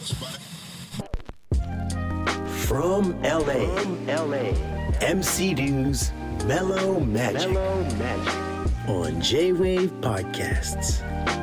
From LA, MC Dew's Mellow Magic on J-Wave Podcasts.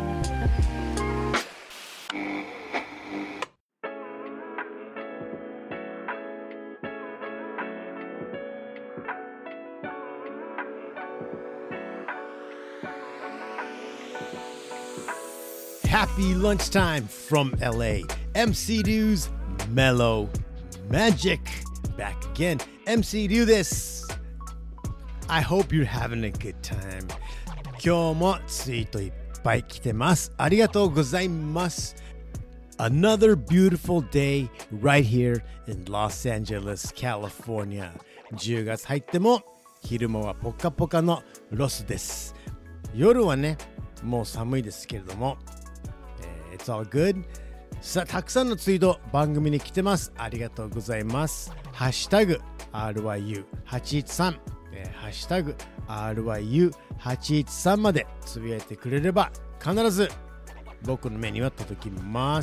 Happy lunchtime from LA. MC Dew's Mellow Magic. Back again. MC Dew です。I hope you're having a good time. 今日もツイートいっぱい来てます。ありがとうございます。Another beautiful day right here in Los Angeles, California. 10月入っても昼間はポカポカのロスです。夜はね、もう寒いですけれども、It's all good. さあ、たくさんのツイート番組に来てます。ありがとうございます。ハッシュタグ RYU813、ハッシュタグ RYU813 までつぶやいてくれれば必ず僕の目には届きます。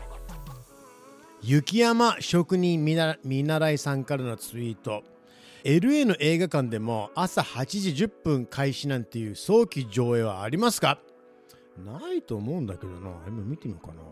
雪山職人見習いさんからのツイート。LA の映画館でも朝8時10分開始なんていう早期上映はありますか？ないと思うんだけどな。今見てみようかな。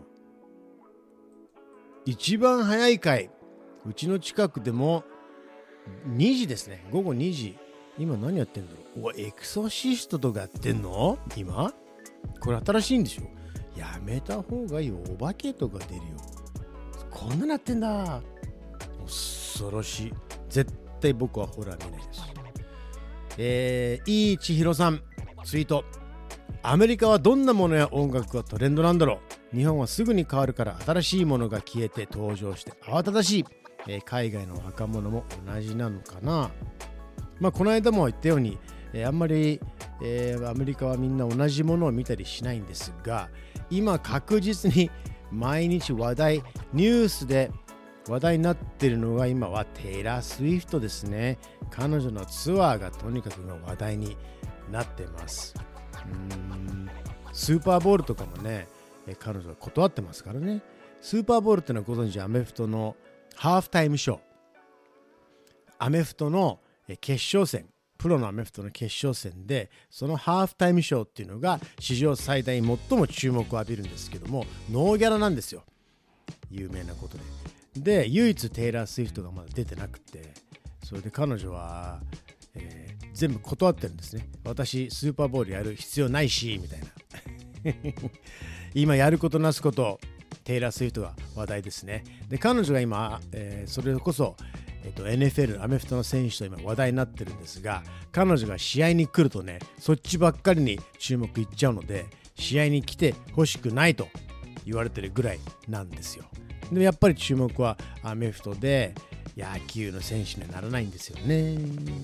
一番早い回、うちの近くでも2時ですね。午後2時。今何やってんだろう。エクソシストとかやってんの？今これ新しいんでしょ。やめた方がいいよ。お化けとか出るよ。こんななってんだ。恐ろしい。絶対僕はホラー見ないです。いい千尋さんツイート。アメリカはどんなものや音楽がトレンドなんだろう。日本はすぐに変わるから新しいものが消えて登場して慌ただしい。海外の若者も同じなのかな。この間も言ったように、あんまり、アメリカはみんな同じものを見たりしないんですが、今確実に毎日ニュースで話題になっているのが今はテイラー・スウィフトですね。彼女のツアーがとにかく話題になってます。スーパーボールとかもね、彼女は断ってますからね。スーパーボールってのはご存知、アメフトのハーフタイムショー。アメフトの決勝戦、プロのアメフトの決勝戦で、そのハーフタイムショーっていうのが史上最大最も注目を浴びるんですけども、ノーギャラなんですよ。有名なことで。で、唯一テイラー・スウィフトがまだ出てなくて、それで彼女は全部断ってるんですね。私スーパーボールやる必要ないしみたいな今やることなすことテイラー・スウィフトが話題ですね。で、彼女が今、それこそ、NFL アメフトの選手と今話題になってるんですが、彼女が試合に来るとね、そっちばっかりに注目いっちゃうので、試合に来てほしくないと言われてるぐらいなんですよ。で、やっぱり注目はアメフトで、野球の選手にはならないんですよね。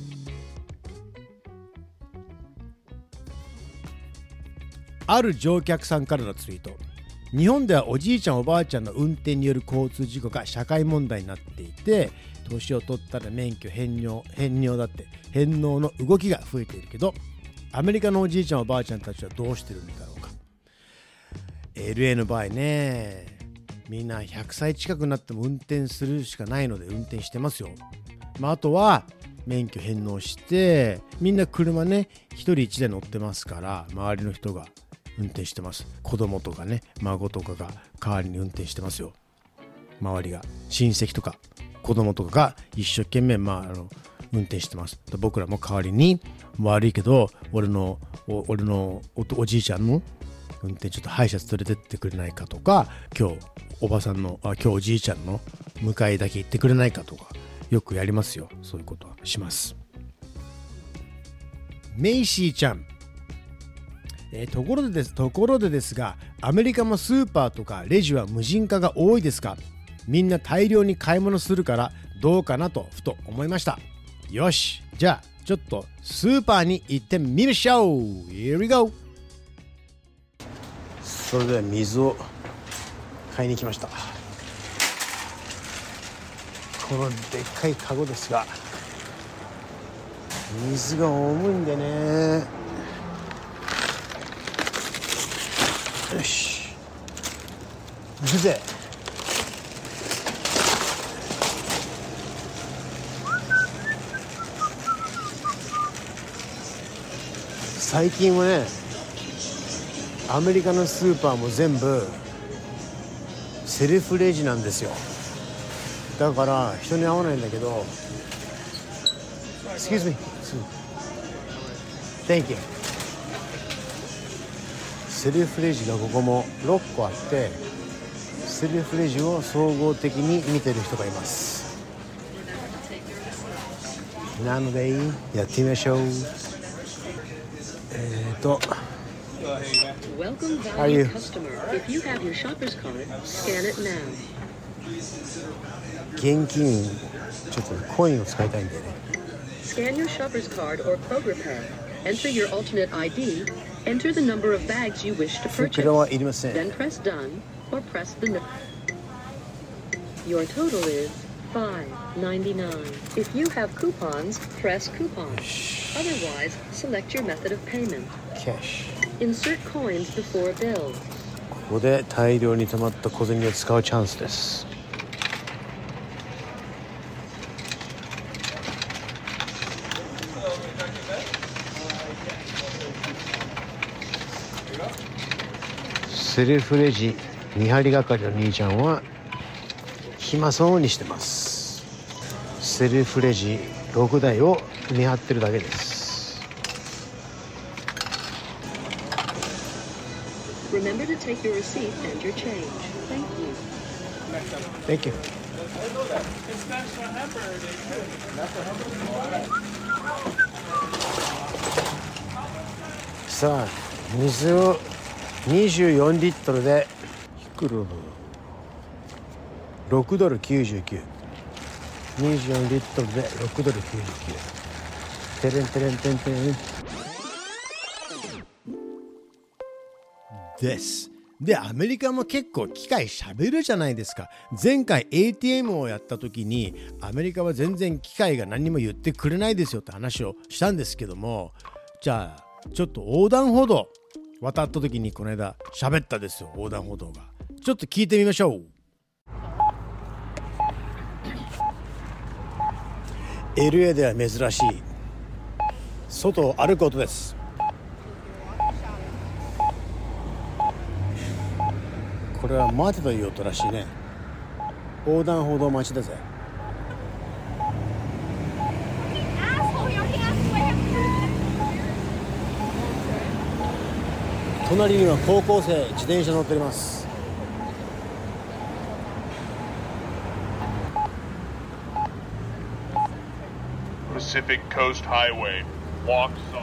ある乗客さんからのツイート。日本ではおじいちゃんおばあちゃんの運転による交通事故が社会問題になっていて、年を取ったら免許返納の動きが増えているけど、アメリカのおじいちゃんおばあちゃんたちはどうしてるんだろうか。 LA の場合ね、みんな100歳近くなっても運転するしかないので運転してますよ。あとは免許返納して、みんな車ね、一人一台乗ってますから、周りの人が運転してます。子供とかね、孫とかが代わりに運転してますよ。周りが親戚とか子供とかが一生懸命運転してます。僕らも代わりに、悪いけど俺の おじいちゃんの運転ちょっと歯医者連れてってくれないかとか、今日おじいちゃんの迎えだけ行ってくれないかとか、よくやりますよ。そういうことはします。メイシーちゃん、ところでですが、アメリカもスーパーとかレジは無人化が多いですか？みんな大量に買い物するからどうかなとふと思いました。よし、じゃあちょっとスーパーに行ってみましょう。 Here we go。 それでは水を買いに来ました。このでっかいカゴですが、水が重いんでね。よし。で最近はね、アメリカのスーパーも全部セルフレジなんですよ。だから人に会わないんだけど、 Excuse me. Thank you. セルフレジがここも6個あって、セルフレジを総合的に見てる人がいます。なのでやってみましょう。 Welcome, valued customer. If you have your shopper's card, scan it now. 現金ちょっとコインを使いたいんでね。 Scan your shopper's card or Kroger pay. Enter your alternate ID. Enter the number of bags you wish to 袋 purchase. はいりません。 Then press done or press the. Your total is $5.99. If you have coupons, press coupon. Otherwise, select your method of payment. キャッシュ。 Insert coins before bill. ここで大量に溜まった小銭を使うチャンスです。セルフレジ見張り係の兄ちゃんは暇そうにしてます。セルフレジ6台を見張ってるだけです。 Remember to take your receipt and your change. Thank you. Thank you. さあ、水を24リットルでいくらだ6ドル99。24リットルで6ドル99。テレンテレンテンテンです。で、アメリカも結構機械喋るじゃないですか。前回 ATM をやった時にアメリカは全然機械が何も言ってくれないですよって話をしたんですけども、じゃあちょっと横断歩道渡った時にこの間喋ったですよ。横断歩道がちょっと聞いてみましょう。 LA では珍しい外を歩く音です。これは待てという音らしいね。横断歩道待ちだぜ。隣には高校生自転車乗っております。 Pacific Coast Highway. Walk sign.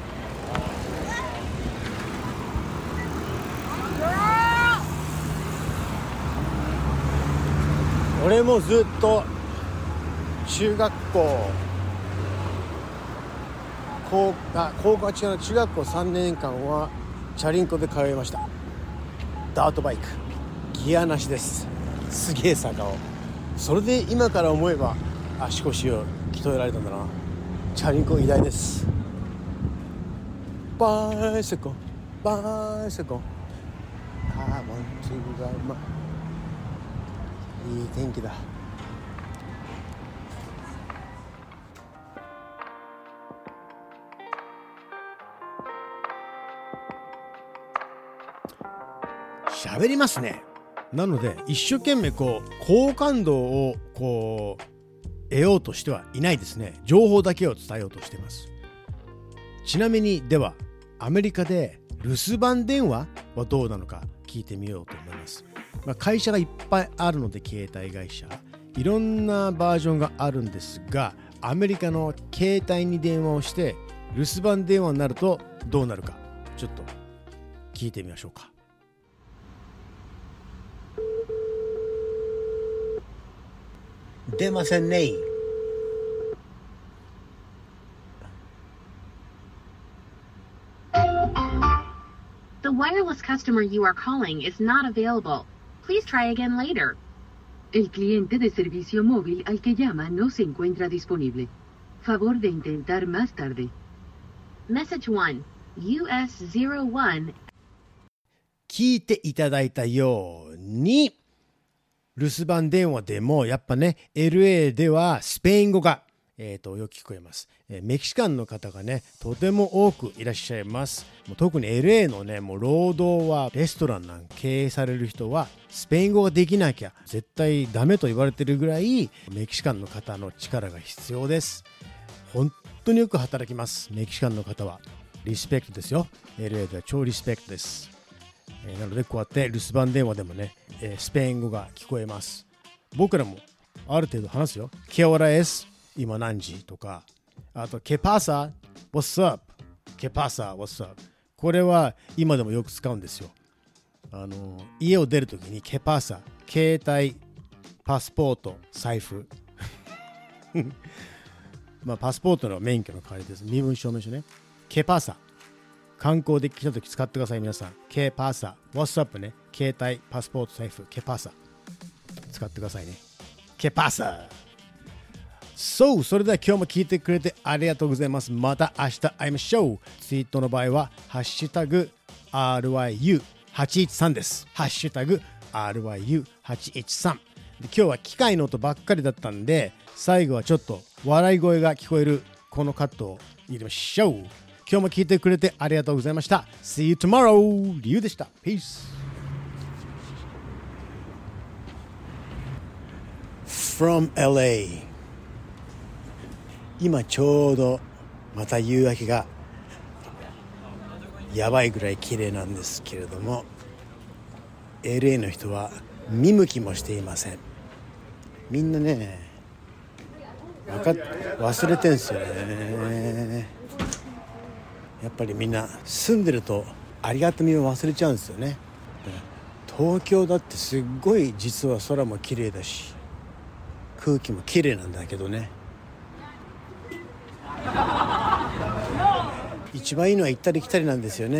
俺もずっと中学校高校は違う、中学校3年間はチャリンコで通いました。ダートバイクギアなしです。すげえ坂を。それで今から思えば足腰を鍛えられたんだな。チャリンコ偉大です。バイセコバイセコ I want to ride my いい天気だ。喋りますね。なので一生懸命こう好感度をこう得ようとしてはいないですね。情報だけを伝えようとしています。ちなみにではアメリカで留守番電話はどうなのか聞いてみようと思います。会社がいっぱいあるので携帯会社いろんなバージョンがあるんですが、アメリカの携帯に電話をして留守番電話になるとどうなるかちょっと聞いてみましょうか。出ませんね。 The wireless customer you are calling is not available. Please try again later. El cliente de servicio móvil al que llama no se encuentra disponible. Favor de intentar más tarde. Message 1, US01. 聞いていただいたように、留守番電話でもやっぱね LA ではスペイン語がよく聞こえます。メキシカンの方がねとても多くいらっしゃいます。もう特に LA のねもう労働はレストランなんか経営される人はスペイン語ができなきゃ絶対ダメと言われてるぐらいメキシカンの方の力が必要です。本当によく働きます。メキシカンの方はリスペクトですよ。 LA では超リスペクトです。なのでこうやって留守番電話でもね、スペイン語が聞こえます。僕らもある程度話すよ。ケオラエス今何時とか、あとケパサ What's up ケパサ What's up これは今でもよく使うんですよ。家を出るときにケパサ携帯パスポート財布まあパスポートの免許の代わりです。身分証明書ね。ケパサ観光で来たとき使ってください皆さん。ケパサ What's up ね。携帯パスポート財布ケパサ使ってくださいね。ケパサそれでは今日も聞いてくれてありがとうございます。また明日会いましょう。ツイートの場合はハッシュタグ RYU813 です。ハッシュタグ RYU813 で今日は機械の音ばっかりだったんで最後はちょっと笑い声が聞こえるこのカットを入れましょう。今日も聞いてくれてありがとうございました。 See you tomorrow リュウでした。 Peace from LA。今ちょうどまた夕焼けがやばいぐらい綺麗なんですけれども LA の人は見向きもしていません。みんなね忘れてんすよね。やっぱりみんな住んでるとありがたみを忘れちゃうんですよね。東京だってすっごい実は空も綺麗だし空気も綺麗なんだけどね、一番いいのは行ったり来たりなんですよ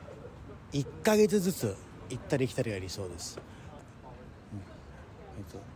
ね。1ヶ月ずつ行ったり来たりが理想です。